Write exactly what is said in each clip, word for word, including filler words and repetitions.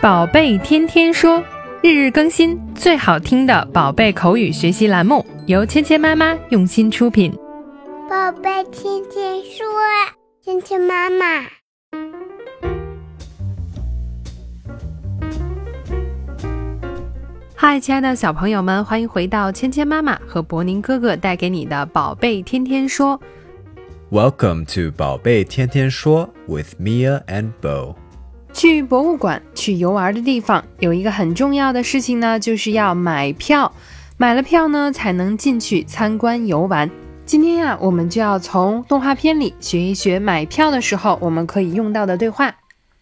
宝贝天天说，日日更新，最好听的宝贝口语学习栏目，由芊芊妈妈用心出品。 宝贝天天说，芊芊妈妈。 嗨，亲爱的小朋友们，欢迎回到芊芊妈妈和博宁哥哥带给你的宝贝天天说。 Welcome to 宝贝天天说 with Mia and Bo。 去博物馆、去游玩的地方，有一个很重要的事情呢，就是要买票。买了票呢，才能进去参观游玩。今天呀、啊，我们就要从动画片里学一学买票的时候我们可以用到的对话。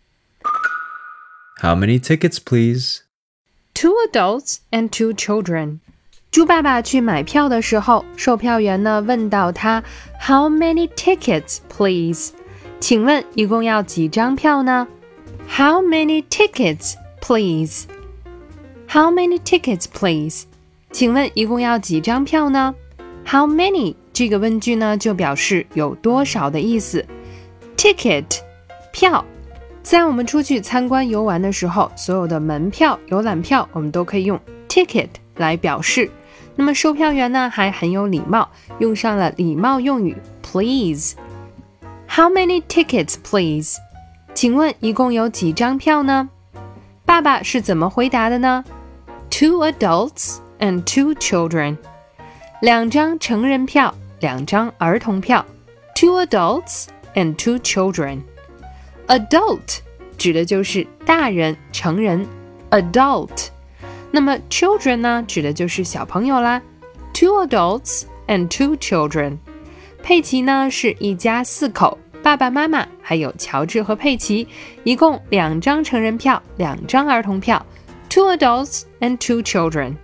How many tickets, please? Two adults and two children. 猪爸爸去买票的时候，售票员呢问到他 How many tickets, please? 请问一共要几张票呢？ How many tickets, please? How many tickets, please? 请问一共要几张票呢？ How many 这个问句呢就表示有多少的意思。 Ticket 票，在我们出去参观游玩的时候，所有的门票、游览票我们都可以用 ticket 来表示。那么售票员呢还很有礼貌，用上了礼貌用语 please。 How many tickets, please? 请问一共有几张票呢？爸爸是怎么回答的呢？ Two adults and two children. 两张成人票，两张儿童票。 Two adults and two children. Adult 指的就是大人、成人 adult。 那么 children 呢，指的就是小朋友啦。 Two adults and two children. 佩奇呢是一家四口，爸爸妈妈还有乔治和佩奇，一共两张成人票，两张儿童票。 Two adults and two children.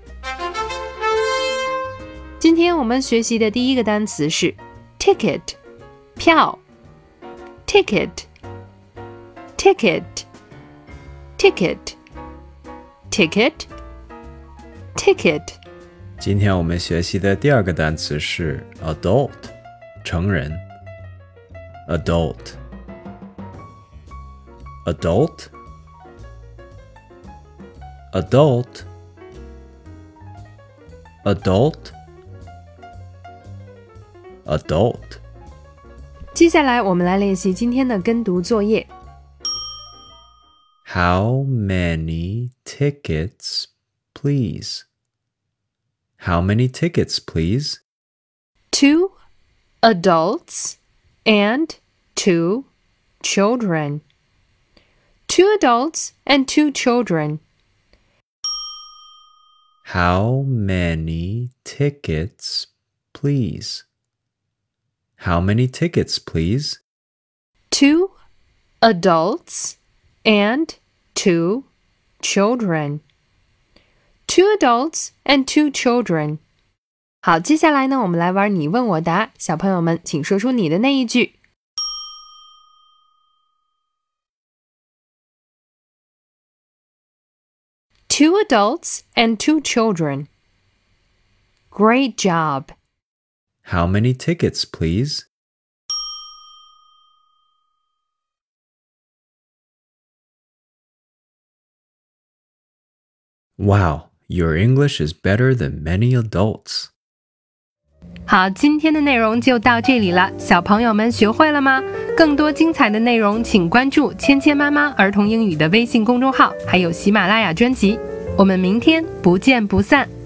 今天我们学习的第一个单词是 ticket 票。 ticket ticket ticket ticket ticket。 今天我们学习的第二个单词是 adult 成人。 adult adult adult adult adult。 接下来我们来练习今天的跟读作业。 How many tickets, please? How many tickets, please? Two adults and two children. Two adults and two children. How many tickets, please? How many tickets, please? Two adults and two children. Two adults and two children. 好，接下来呢，我们来玩你问我答。小朋友们，请说出你的那一句。Two adults and two children. Great job. How many tickets, please? Wow, your English is better than many adults. 好，今天的内容就到这里了，小朋友们学会了吗？更多精彩的内容，请关注芊芊妈妈儿童英语的微信公众号，还有喜马拉雅专辑。我们明天不见不散。